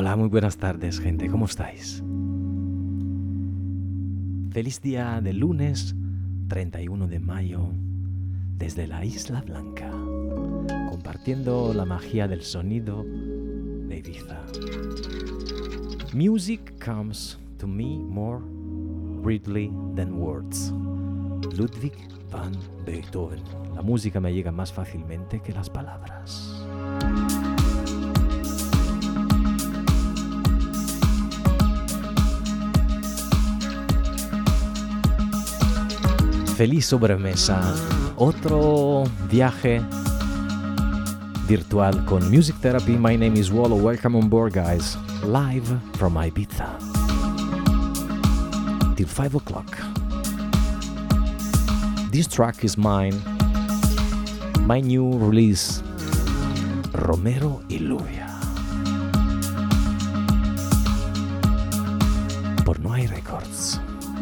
Hola, muy buenas tardes, gente. ¿Cómo estáis? Feliz día de lunes 31 de mayo desde la Isla Blanca, compartiendo la magia del sonido de Ibiza. Music comes to me more readily than words. Ludwig van Beethoven. La música me llega más fácilmente que las palabras. Feliz sobremesa, otro viaje virtual con Music Therapy. My name is Wallo. Welcome on board, guys. Live from Ibiza till 5 o'clock. This track is mine, my new release, Romero y Lluvia, por No Hay Records.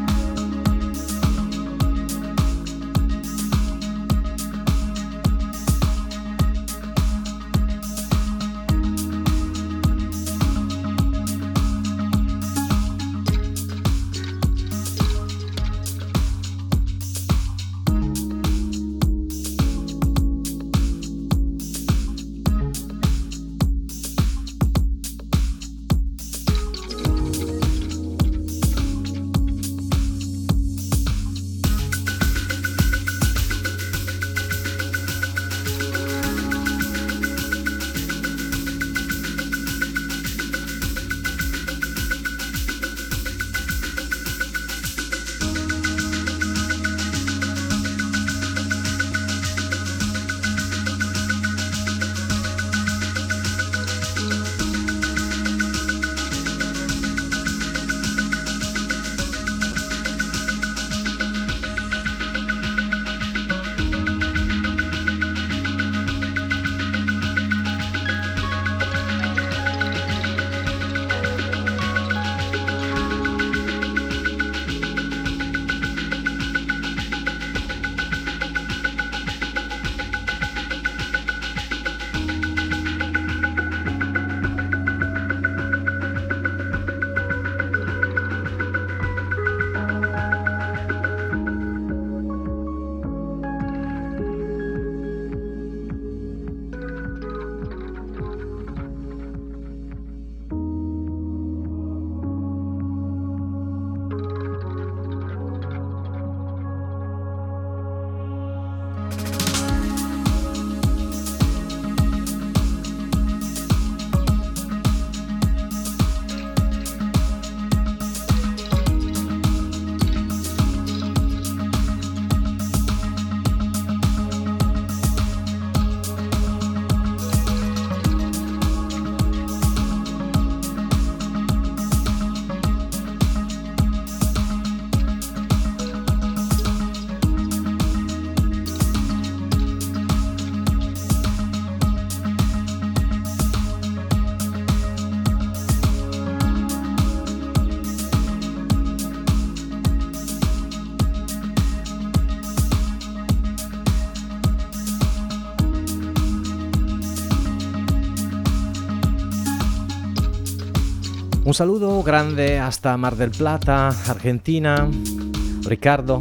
Un saludo grande hasta Mar del Plata, Argentina, Riccardo.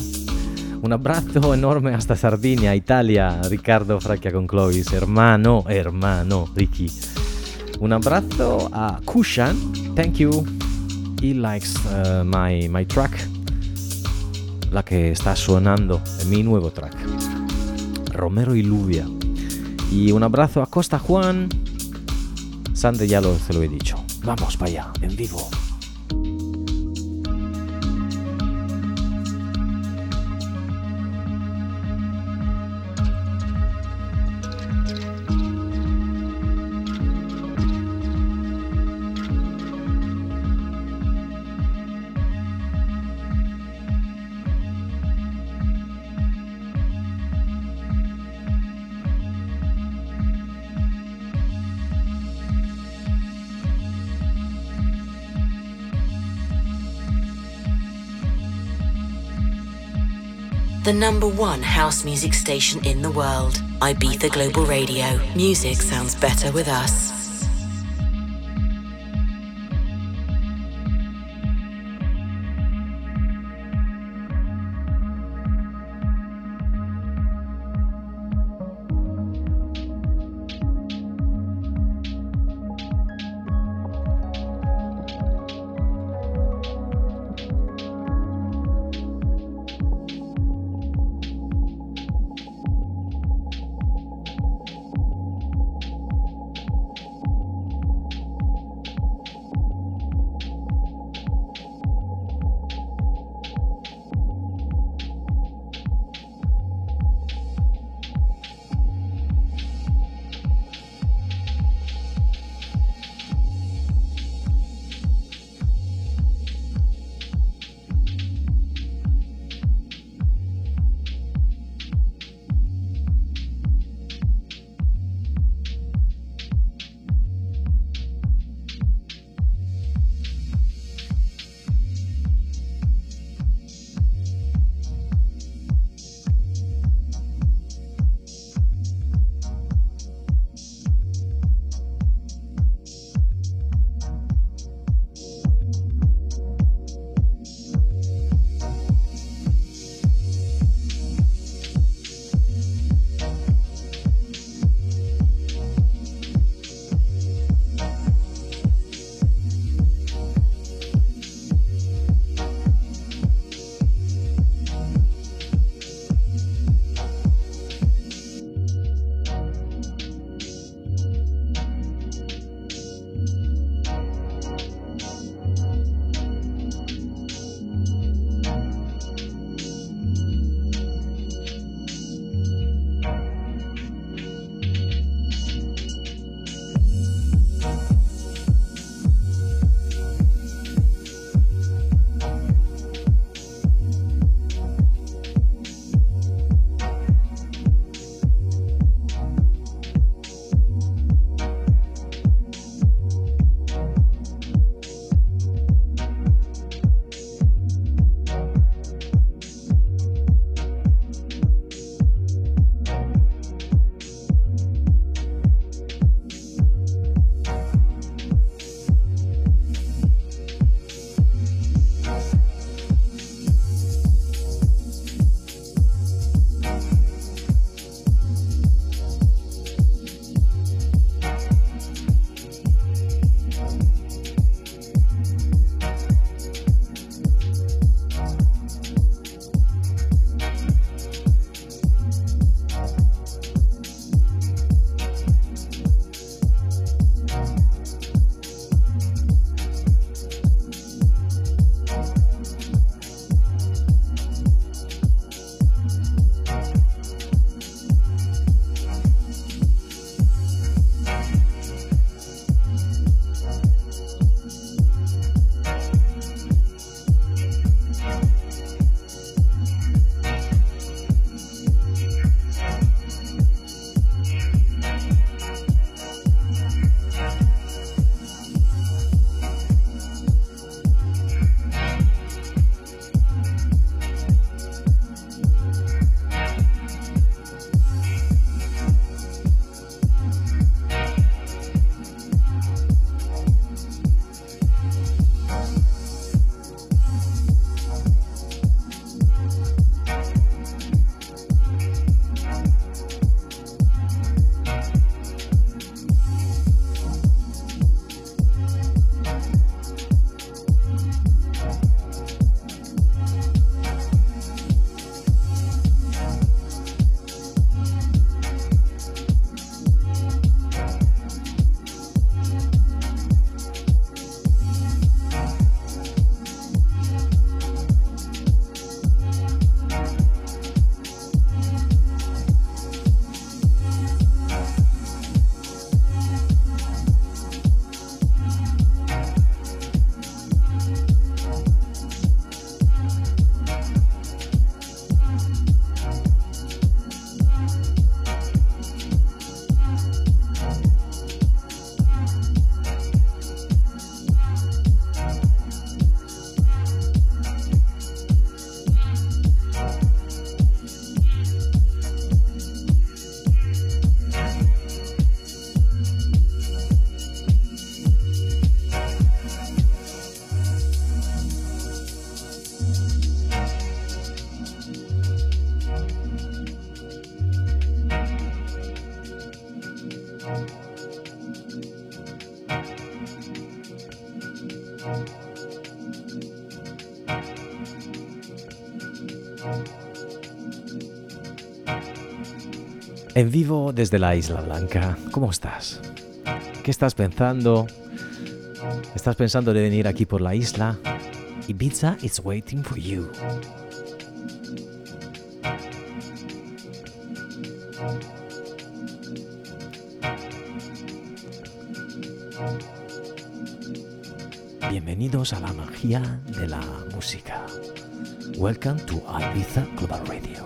Un abbraccio enorme hasta Sardinia, Italia, Riccardo Fracchia con Clovis, hermano, Ricky. Un abrazo a Kushan, thank you. He likes my track, la que está sonando en mi nuevo track, Romero y Lluvia. Y un abrazo a Costa Juan. Sande ya se lo he dicho. Vamos para allá, en vivo. The #1 house music station in the world, Ibiza Global Radio. Music sounds better with us. En vivo desde la Isla Blanca. ¿Cómo estás? ¿Qué estás pensando? ¿Estás pensando de venir aquí por la isla? Ibiza is waiting for you. Bienvenidos a la magia de la música. Welcome to Ibiza Global Radio.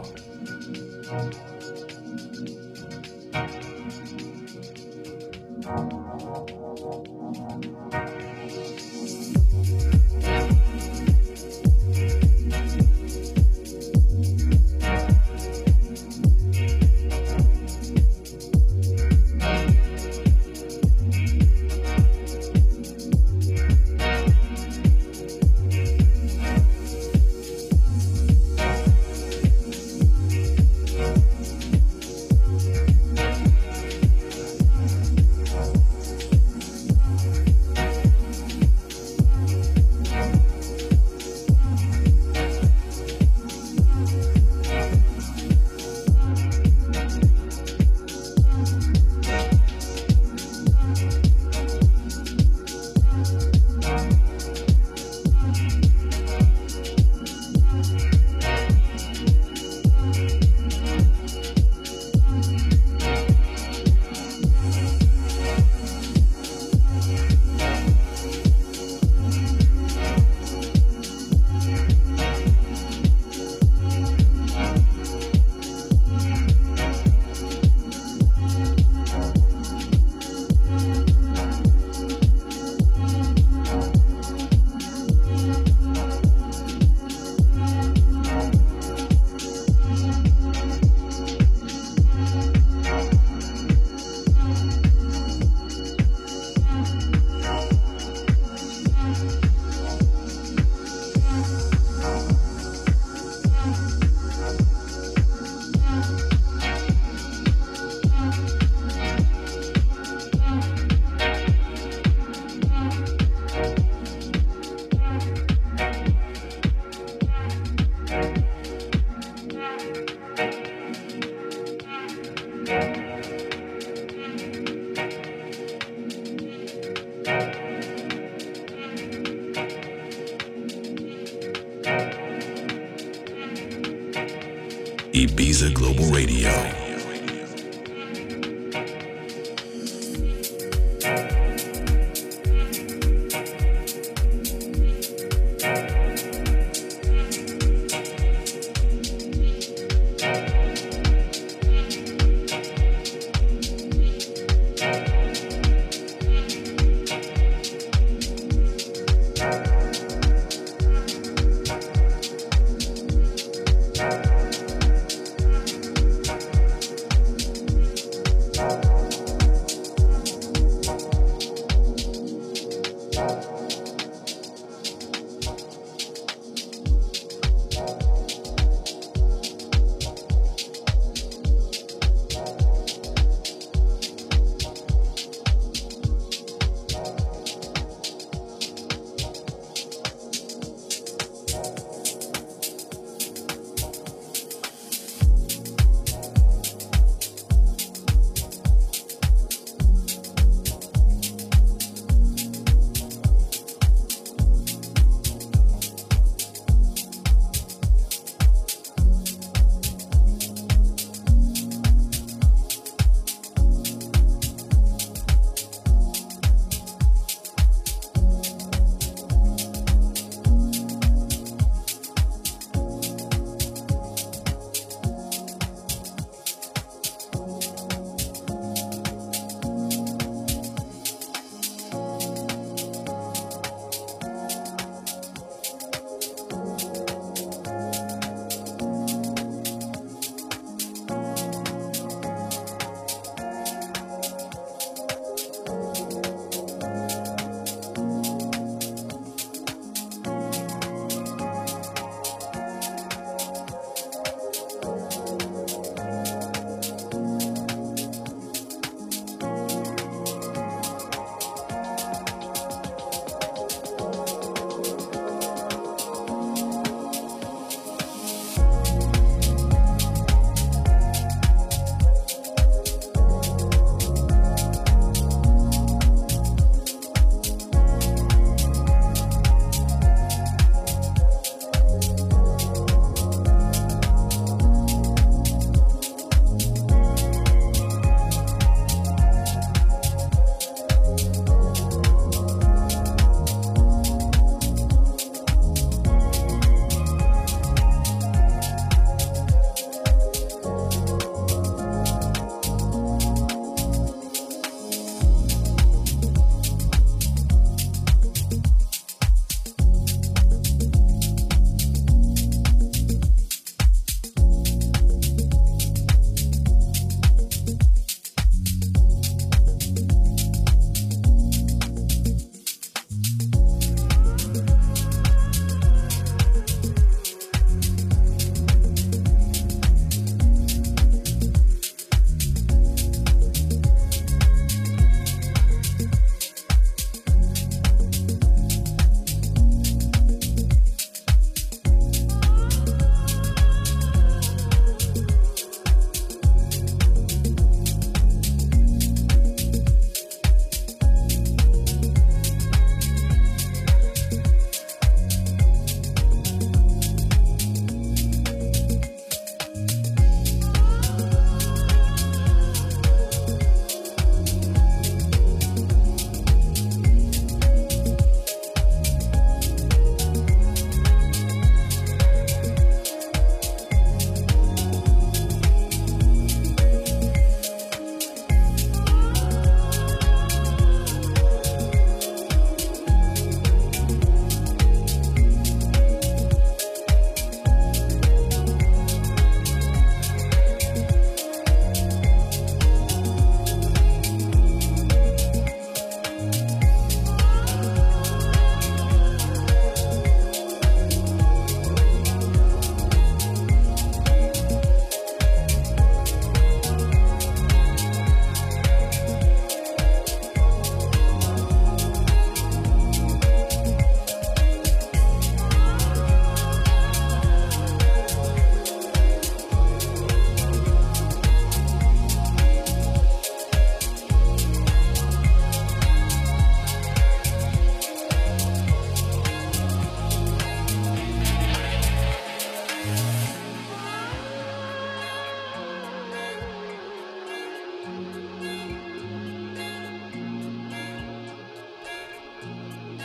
Ibiza Global Radio.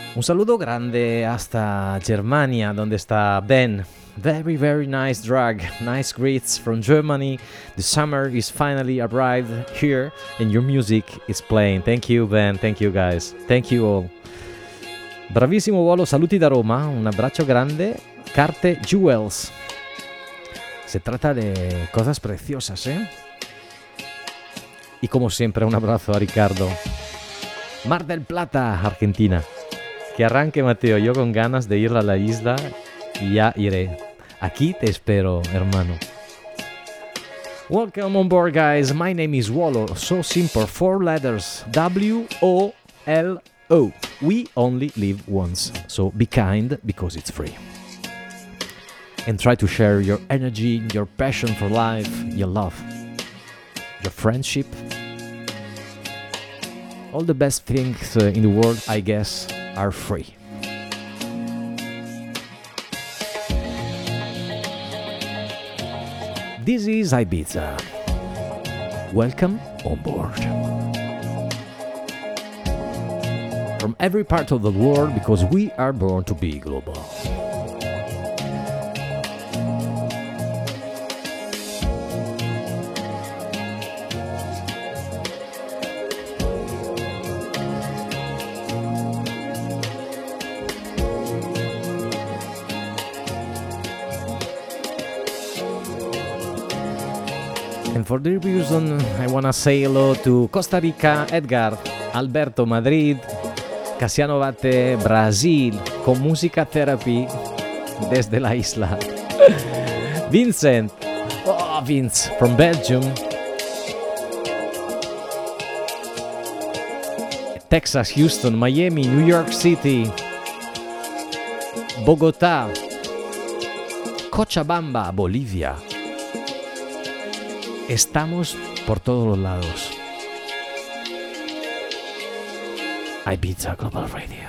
Un saludo grande hasta Germania, donde está Ben. Very, very nice drag. Nice greets from Germany. The summer is finally arrived here and your music is playing. Thank you, Ben. Thank you, guys. Thank you all. Bravissimo volo, saluti da Roma. Un abbraccio grande. Carte Jewels. Se trata de cosas preciosas, ¿eh? Y como siempre, un abrazo a Ricardo. Mar del Plata, Argentina. Que arranque, Mateo. Yo con ganas de ir a la isla y ya iré. Aquí te espero, hermano. Welcome on board, guys. My name is Wolo. So simple. 4 letters. W-O-L-O. We only live once. So be kind because it's free. And try to share your energy, your passion for life, your love, your friendship. All the best things in the world, I guess, are free. This is Ibiza. Welcome on board. From every part of the world, because we are born to be global. And for this reason, I wanna say hello to Costa Rica, Edgar, Alberto, Madrid, Casiano Bate, Brasil, con Musica Therapy desde la isla. Vincent, oh Vince, from Belgium. Texas, Houston, Miami, New York City, Bogotá, Cochabamba, Bolivia. Estamos por todos los lados. Ibiza Global Radio.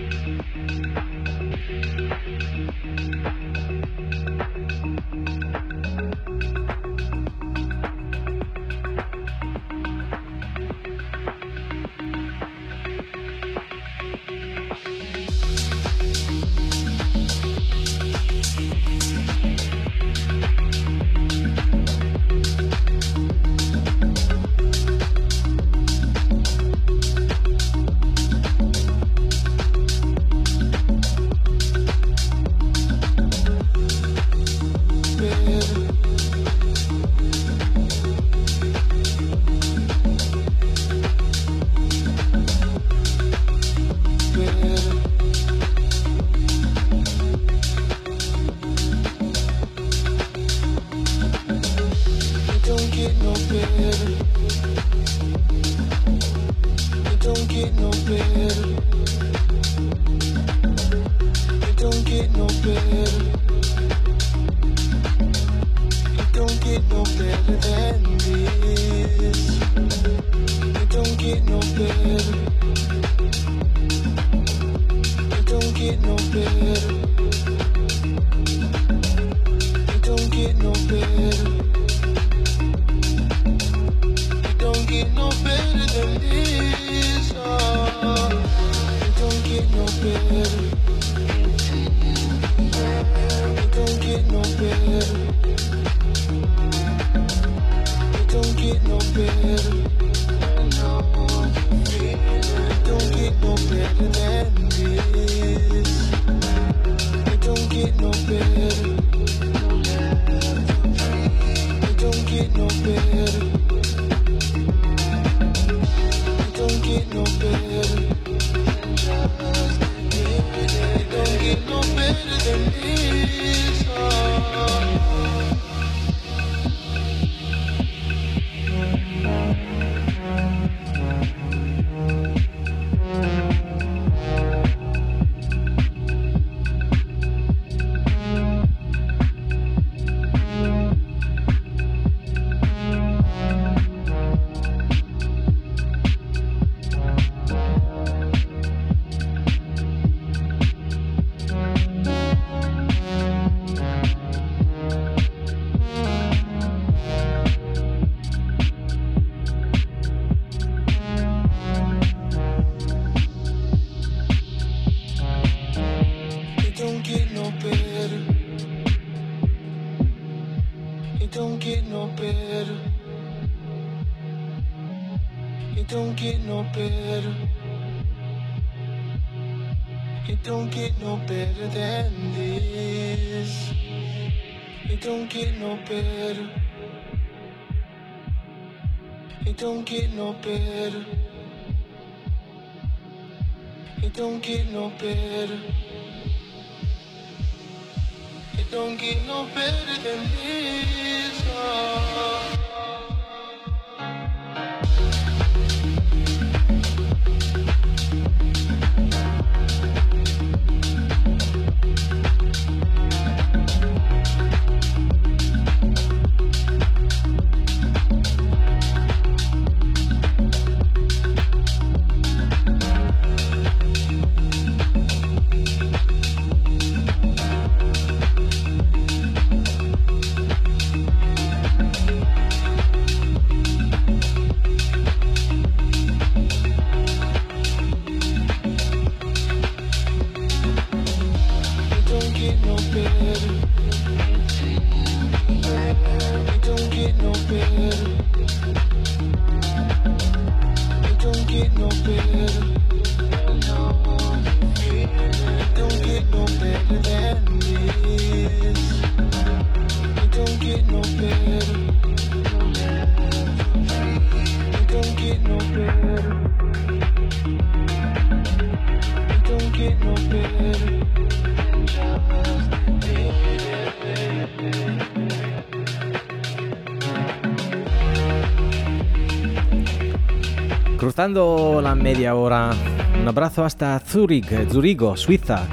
Cruzando la media hora, un abrazo hasta Zurigo, Suiza.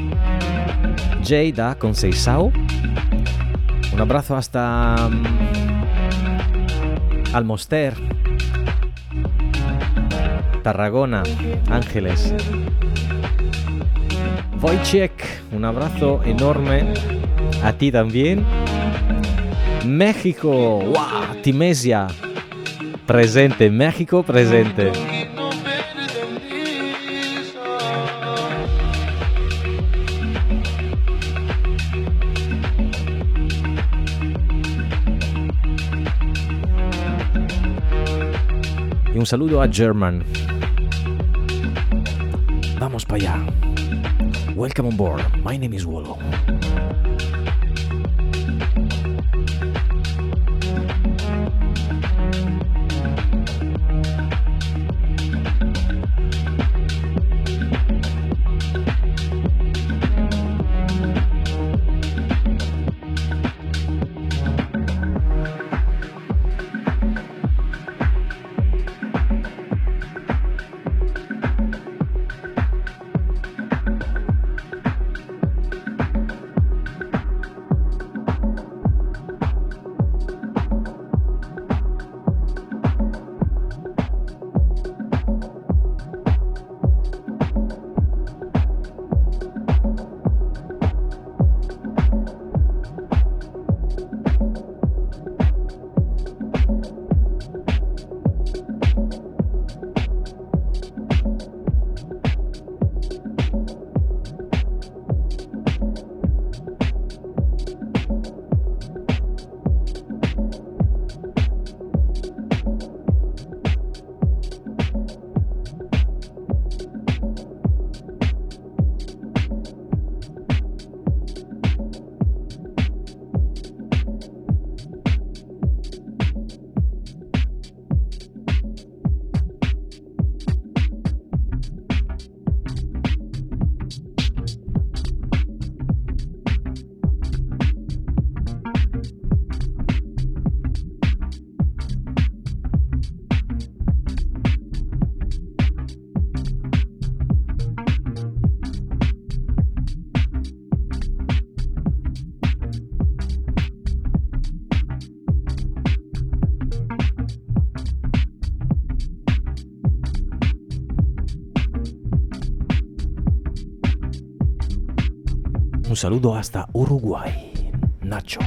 Jada con Seisao. Un abrazo hasta Almoster, Tarragona, Ángeles. Wojciech, un abrazo enorme a ti también. México, wow, Timesia, presente, México presente. Y un saludo a German. Vamos para allá. Welcome on board. My name is Wolo. Un saludo hasta Uruguay, Nacho.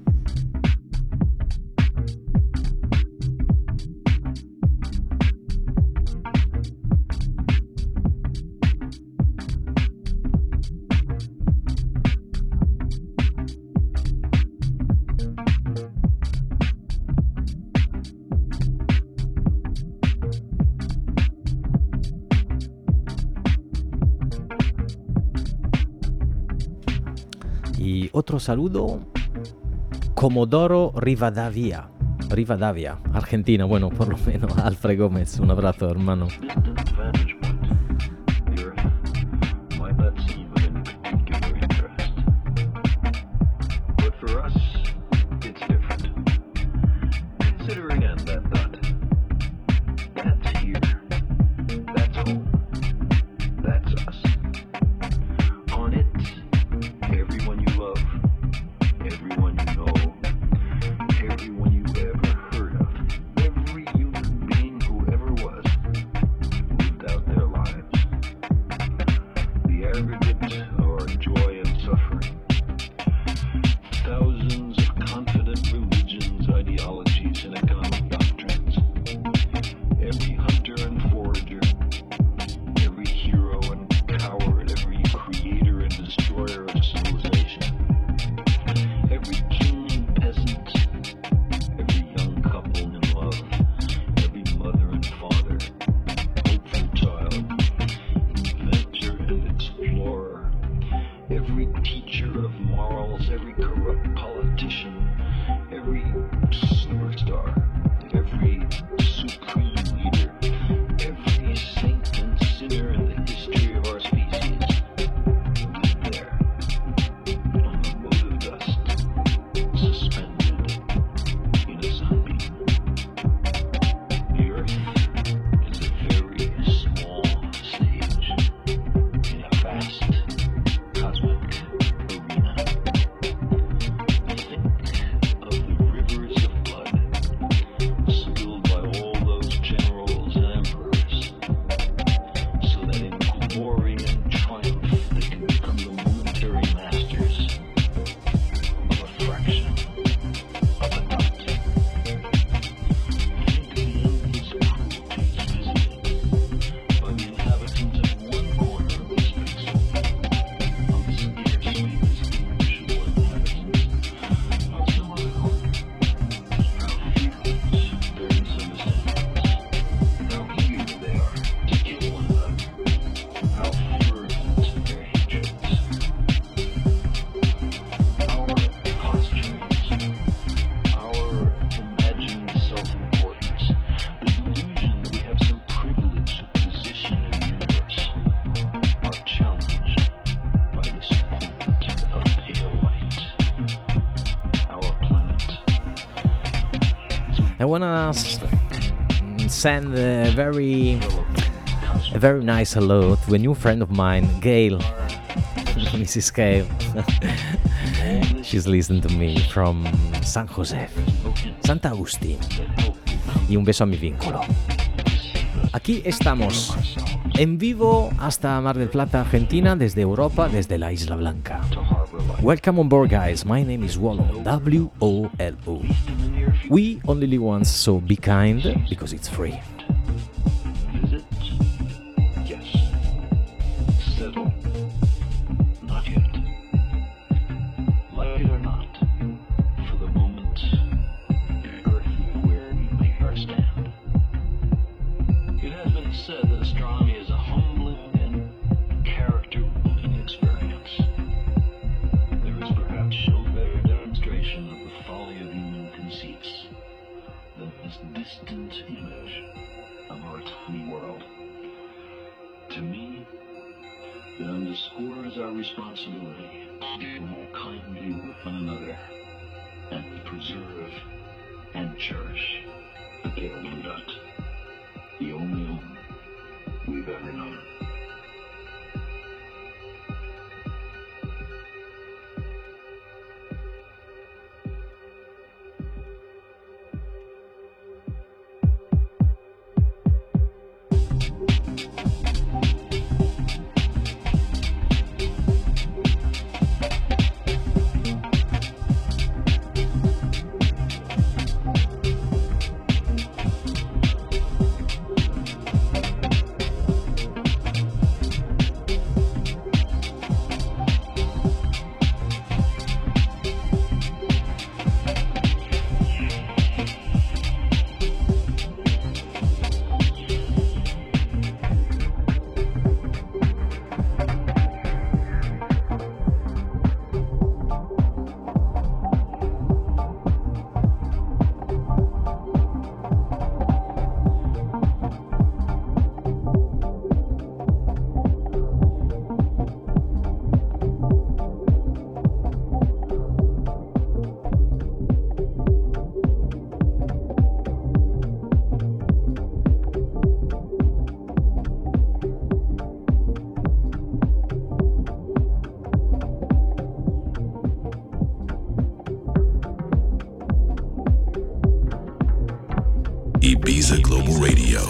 Y otro saludo, Comodoro Rivadavia, Argentina. Bueno, por lo menos Alfred Gómez, un abrazo, hermano. I wanna send a very nice hello to a new friend of mine, Gail, Mrs. Gail. She's listening to me from San José, Santa Agustín. Y un beso a mi vínculo. Aquí estamos, en vivo hasta Mar del Plata, Argentina, desde Europa, desde la Isla Blanca. Welcome on board, guys. My name is Wolo, W-O-L-O. We only live once, so be kind, because it's free. Visit? Yes. Settle? Not yet. Like it or not, for the moment, we're here where we make our stand. It has been said that astronomy is a humbling and character-building experience. There is perhaps no better demonstration of the folly of human conceits than this distant image of our tiny world. To me, it underscores our responsibility to deal more kindly with one another and preserve and cherish the pale blue dot, the only home we've ever known. Ibiza Global Radio.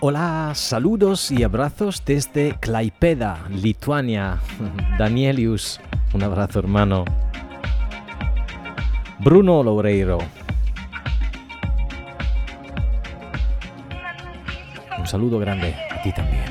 Hola, saludos y abrazos desde Klaipėda, Lituania. Danielius, un abrazo hermano. Bruno Loureiro. Un saludo grande a ti también.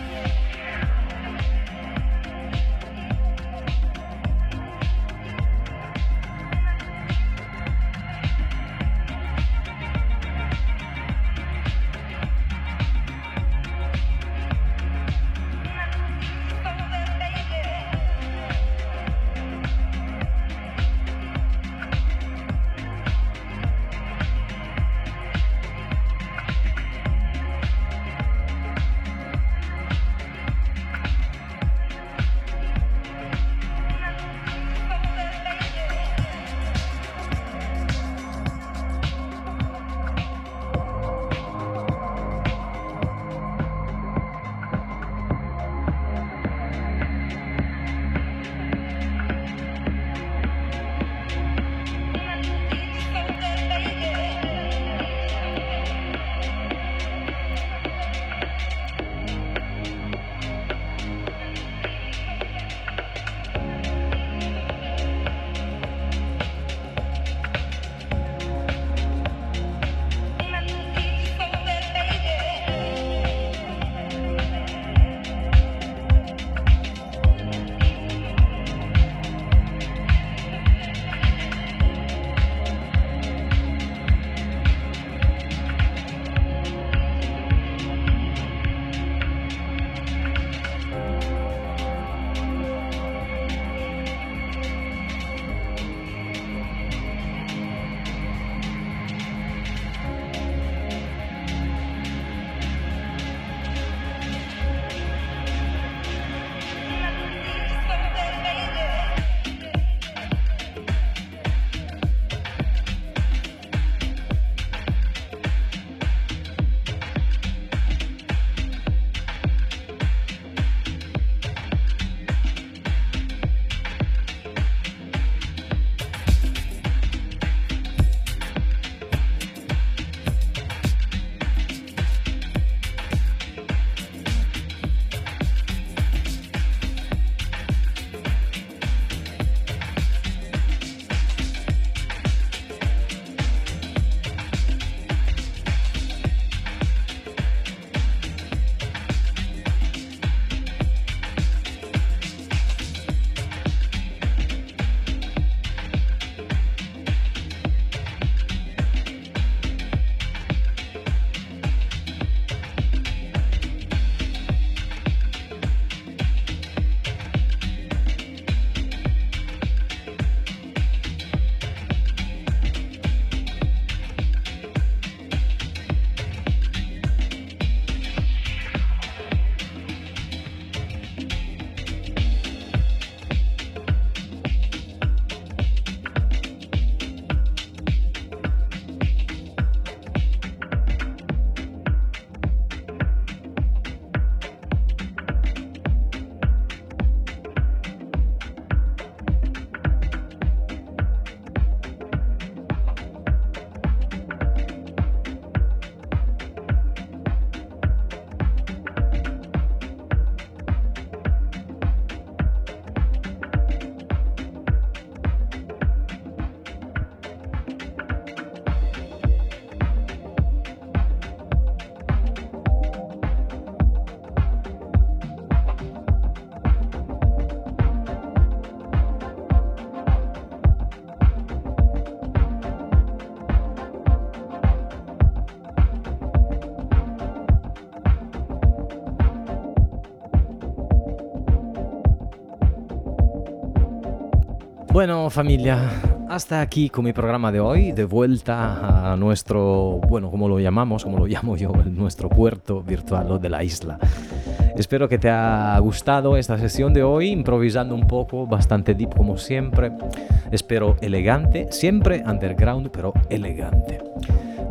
Bueno, familia, hasta aquí con mi programa de hoy, de vuelta a nuestro, bueno, como lo llamo yo, nuestro puerto virtual o de la isla. Espero que te haya gustado esta sesión de hoy, improvisando un poco, bastante deep como siempre. Espero elegante, siempre underground, pero elegante.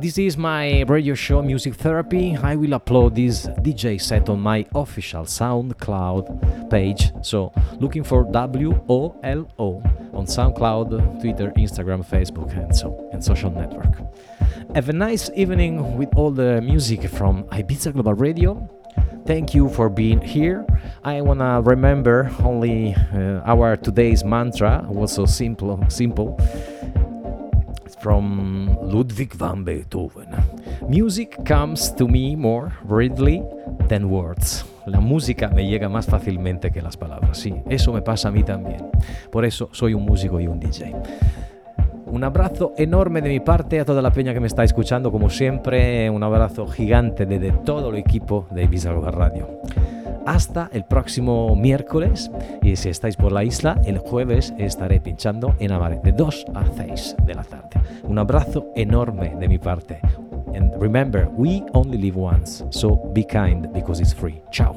This is my radio show Music Therapy. I will upload this DJ set on my official SoundCloud page, so looking for WOLO on SoundCloud, Twitter, Instagram, Facebook, and social network. Have a nice evening with all the music from Ibiza Global Radio. Thank you for being here. I wanna remember only our today's mantra, was so simple. It's from Ludwig van Beethoven. Music comes to me more readily than words. La música me llega más fácilmente que las palabras. Sí, eso me pasa a mí también. Por eso soy un músico y un DJ. Un abrazo enorme de mi parte a toda la peña que me está escuchando, como siempre. Un abrazo gigante de todo el equipo de Ibiza Global Radio. Hasta el próximo miércoles, y si estáis por la isla, el jueves estaré pinchando en Amare de 2 a 6 de la tarde. Un abrazo enorme de mi parte. And remember, we only live once, so be kind because it's free. Ciao.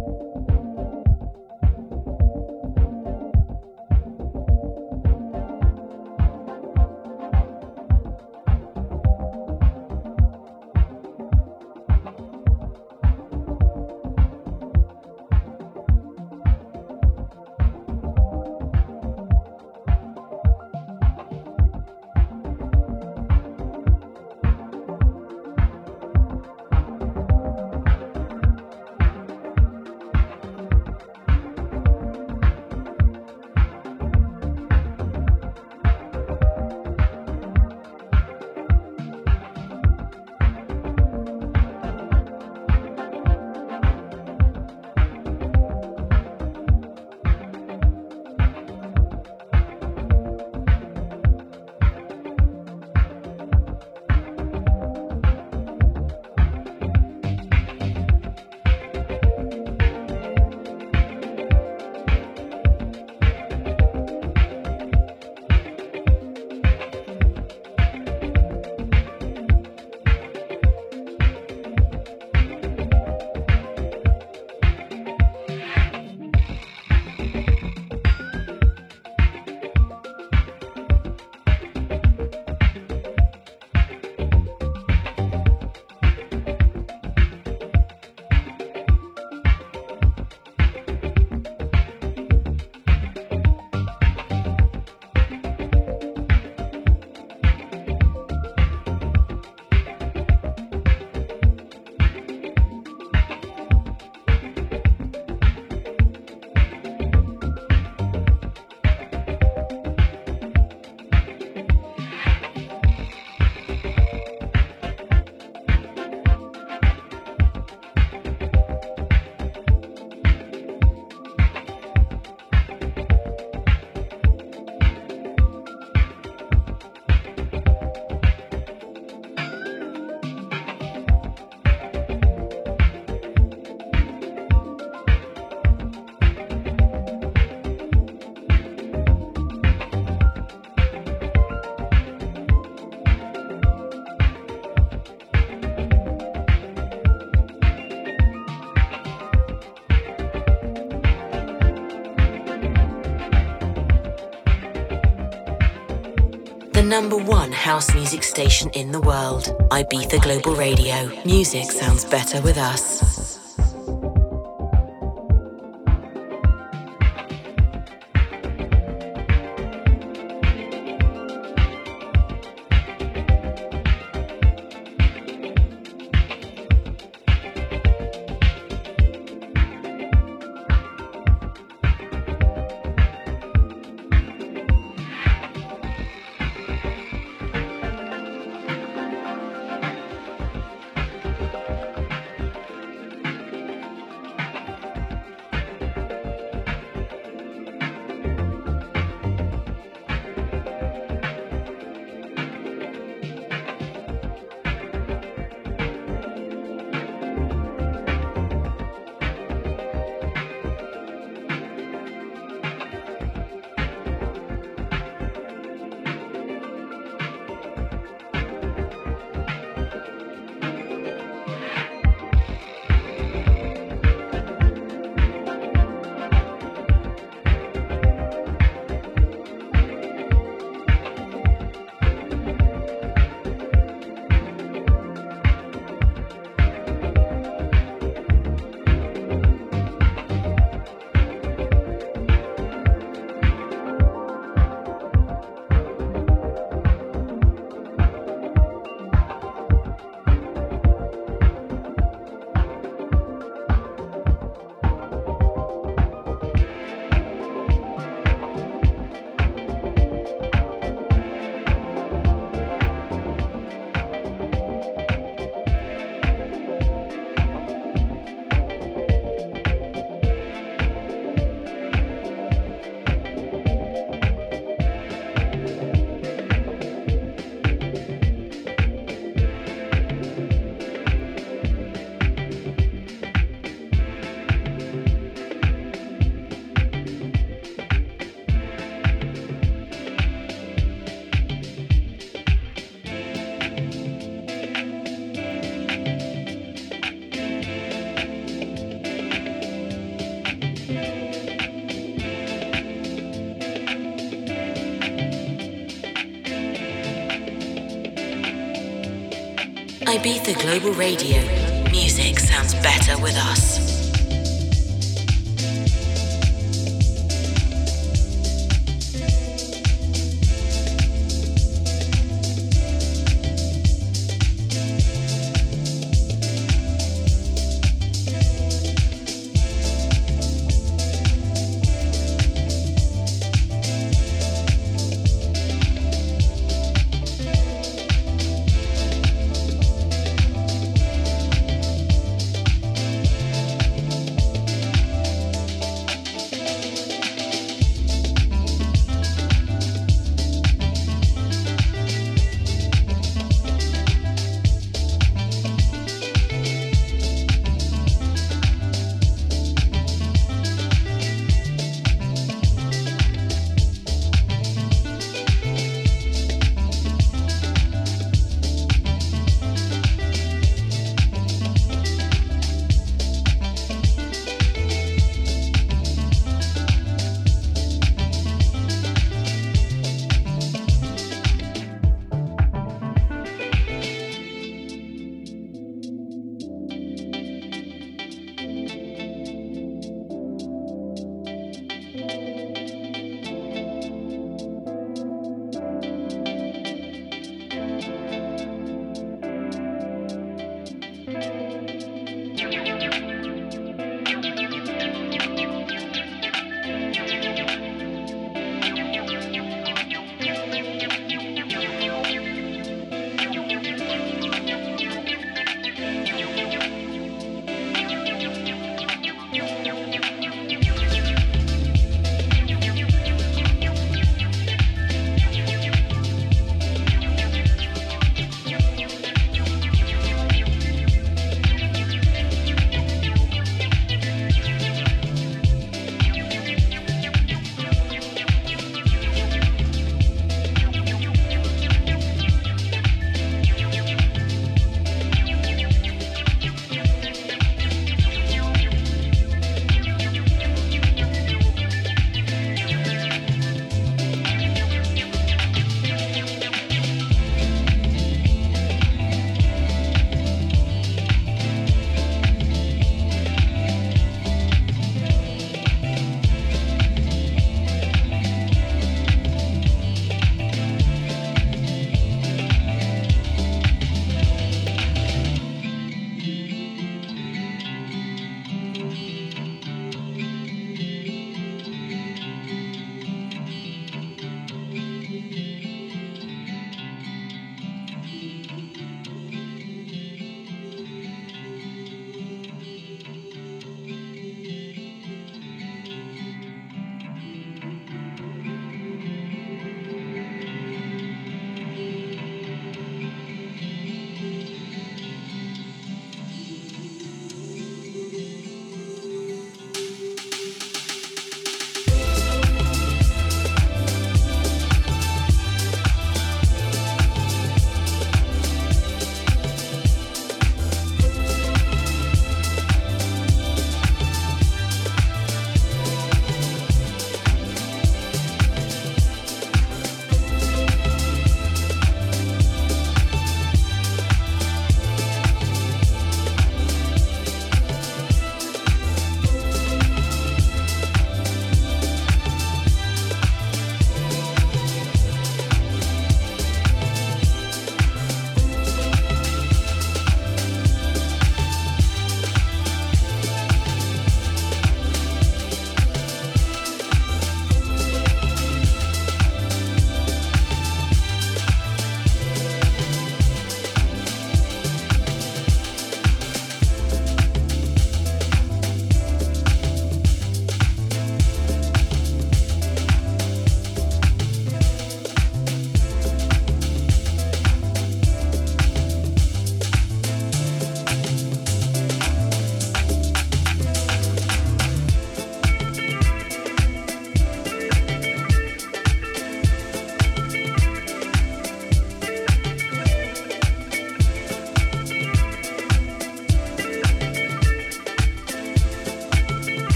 The #1 house music station in the world, Ibiza Global Radio. Music sounds better with us. Ibiza Global Radio. Music sounds better with us.